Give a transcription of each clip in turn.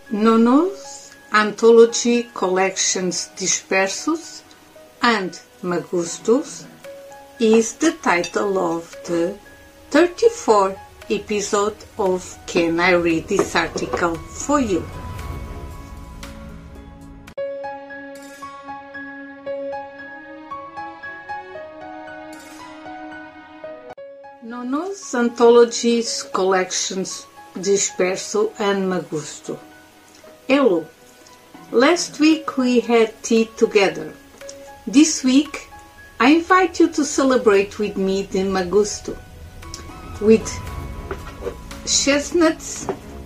Nono's Anthology Collections Dispersos and Magustos is the title of the 34th episode of Can I Read This Article for You? Nono's Anthologies Collections Disperso and Magusto. Hello. Last week we had tea together. This week I invite you to celebrate with me the Magusto with chestnuts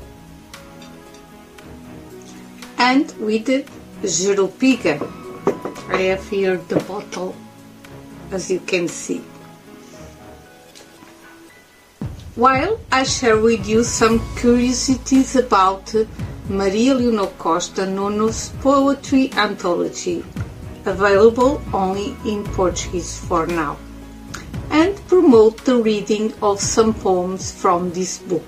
and with the Jurupiga. I have here the bottle, as you can see. While I share with you some curiosities about Maria Leonor Costa Nono's poetry anthology, available only in Portuguese for now, and promote the reading of some poems from this book.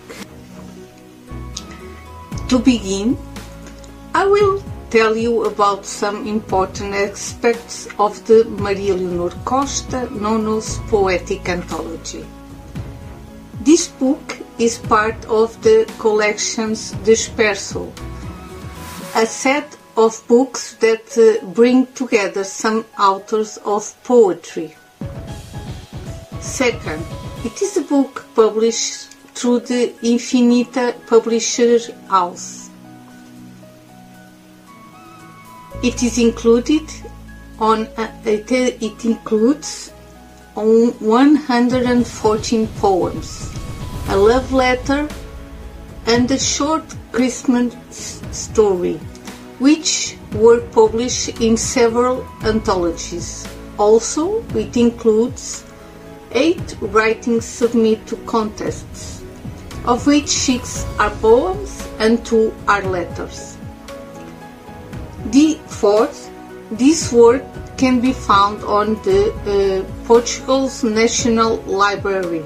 To begin, I will tell you about some important aspects of the Maria Leonor Costa Nono's poetic anthology. This book is part of the collections Disperso, a set of books that bring together some authors of poetry. Second, it is a book published through the Infinita Publisher House. It includes 114 poems, a love letter, and a short Christmas story, which were published in several anthologies. Also, it includes 8 writings submitted to contests, of which 6 are poems and 2 are letters. Fourth, this work can be found on the Portugal's National Library.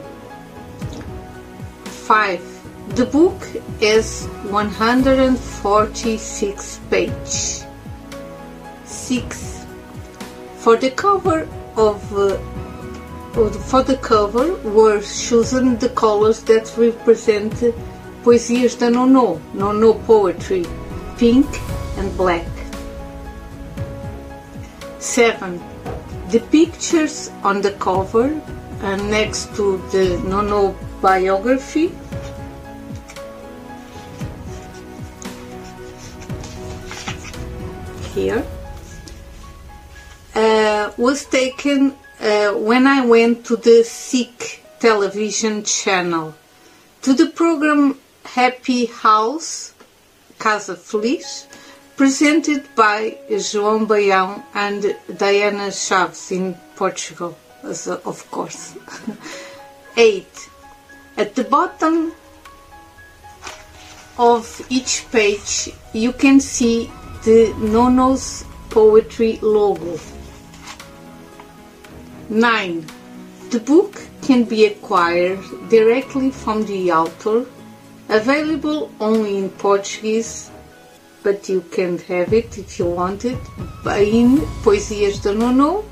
5. The book has 146 pages. 6. For the cover were chosen the colors that represent Poesias da Nono poetry, pink and black. 7. The pictures on the cover and next to the Nono biography here was taken when I went to the SIC television channel, to the program Happy House, Casa Feliz, presented by João Baião and Diana Chaves in Portugal, of course. 8. At the bottom of each page you can see the Nono's poetry logo. 9. The book can be acquired directly from the author, available only in Portuguese, but you can have it if you want it in poesiasdanono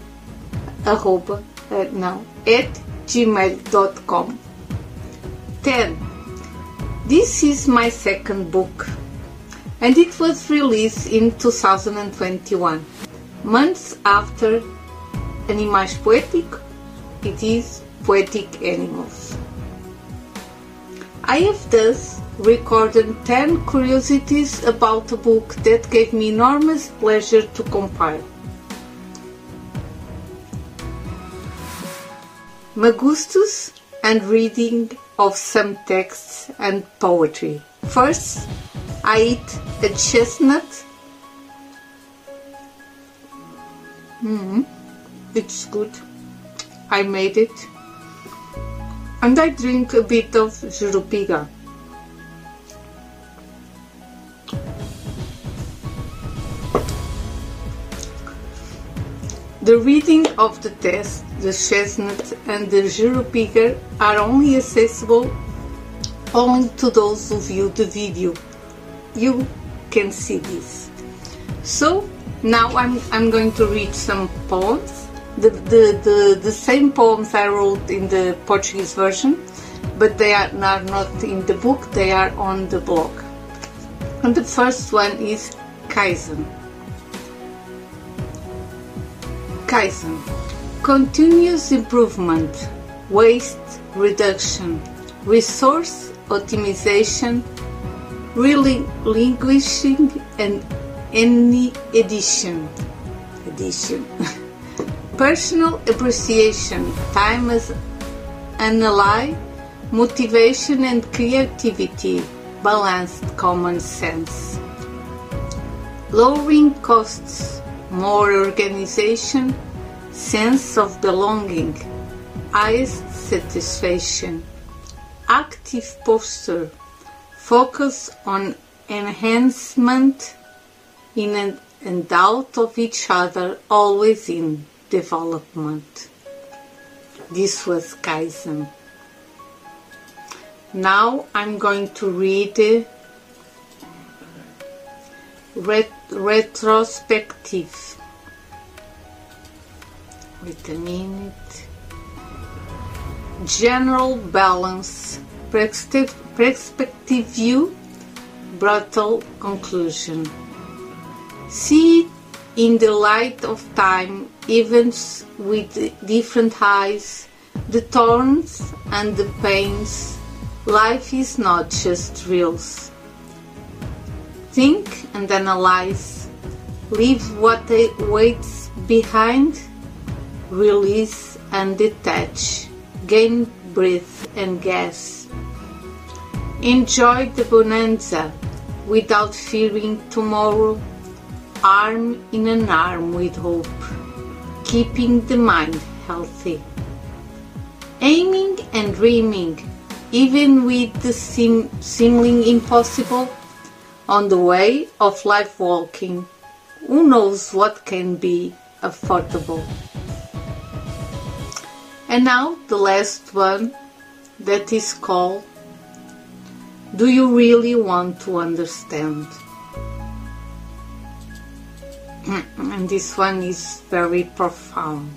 at gmail.com. 10. This is my second book, and it was released in 2021. Months after Animais Poétic, it is Poetic Animals. I have thus recorded 10 curiosities about a book that gave me enormous pleasure to compile. Magustos and reading of some texts and poetry. First, I eat a chestnut. It's good. I made it. And I drink a bit of Jurupiga. The reading of the text, the chestnut and the Jurupiga are only accessible only to those who view the video. You can see this. So now I'm going to read some poems. The same poems I wrote in the Portuguese version, but they are not in the book, they are on the blog. And the first one is Kaizen. Kaizen. Continuous improvement, waste reduction, resource optimization, relinquishing, and any addition. Personal appreciation, time as an ally, motivation and creativity, balanced common sense. Lowering costs, more organization, sense of belonging, highest satisfaction. Active posture, focus on enhancement in and out of each other, always in development. This was Kaizen. Now I'm going to read retrospective. Wait a minute. General balance, perspective view, brutal conclusion. See it in the light of time, events with different eyes, the thorns and the pains. Life is not just thrills. Think and analyze. Leave what waits behind. Release and detach. Gain breath and gas. Enjoy the bonanza without fearing tomorrow. Arm in an arm with hope, keeping the mind healthy. Aiming and dreaming, even with the seeming impossible, on the way of life walking, who knows what can be affordable. And now the last one, that is called, Do You Really Want to Understand? And this one is very profound.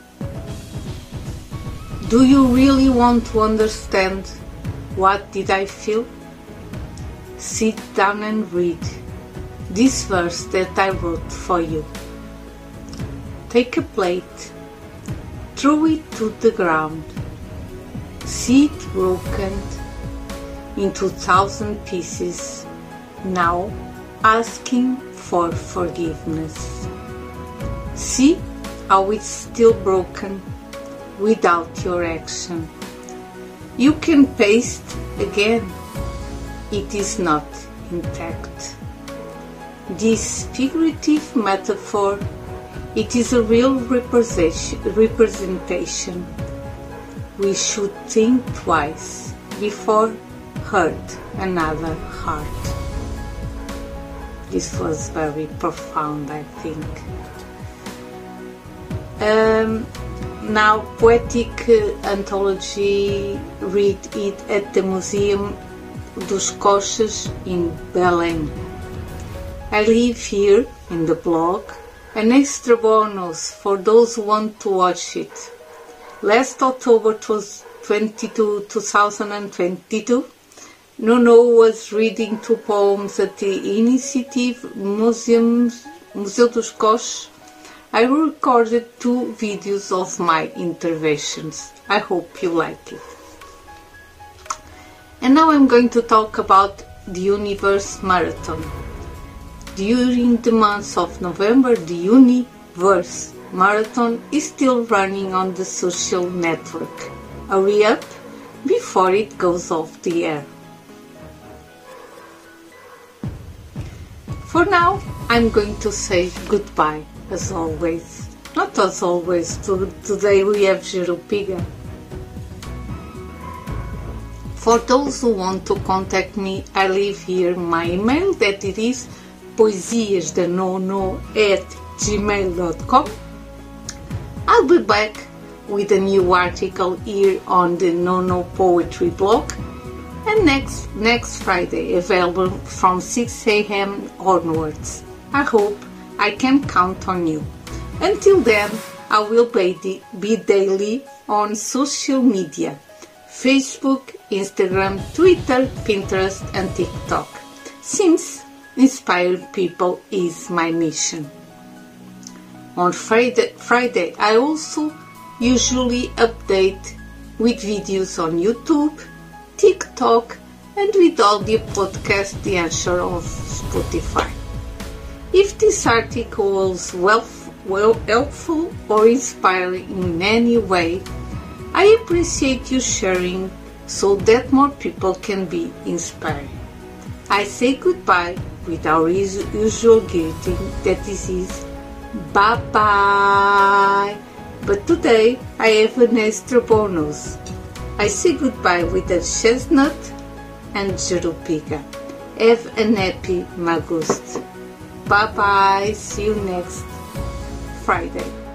Do you really want to understand what did I feel? Sit down and read this verse that I wrote for you. Take a plate, throw it to the ground, see it broken into 1,000 pieces, now asking for forgiveness. See how it's still broken without your action. You can paste again. It is not intact. This figurative metaphor, it is a real representation. We should think twice before hurt another heart. This was very profound, I think. Now, Poetic Anthology, read it at the Museum dos Coches in Belém. I leave here in the blog an extra bonus for those who want to watch it. Last October 2022, Nuno was reading 2 poems at the Initiative Museu dos Coches. I recorded 2 videos of my interventions. I hope you like it. And now I'm going to talk about the Universe Marathon. During the month of November, the Universe Marathon is still running on the social network. Hurry up before it goes off the air. For now, I'm going to say goodbye, as always. Not as always, today we have Jerupiga. For those who want to contact me, I leave here my email, that it is poesiasdanono@gmail.com. I'll be back with a new article here on the Nono Poetry blog, and and next Friday, available from 6 a.m. onwards. I hope I can count on you. Until then, I will be daily on social media: Facebook, Instagram, Twitter, Pinterest and TikTok, since inspiring people is my mission. On Friday, I also usually update with videos on YouTube, TikTok and with audio podcast The Answer of Spotify. If this article was helpful or inspiring in any way, I appreciate you sharing so that more people can be inspired. I say goodbye with our usual greeting, that this is bye-bye. But today I have an extra bonus. I say goodbye with a chestnut and jerupiga. Have an happy August. Bye-bye. See you next Friday.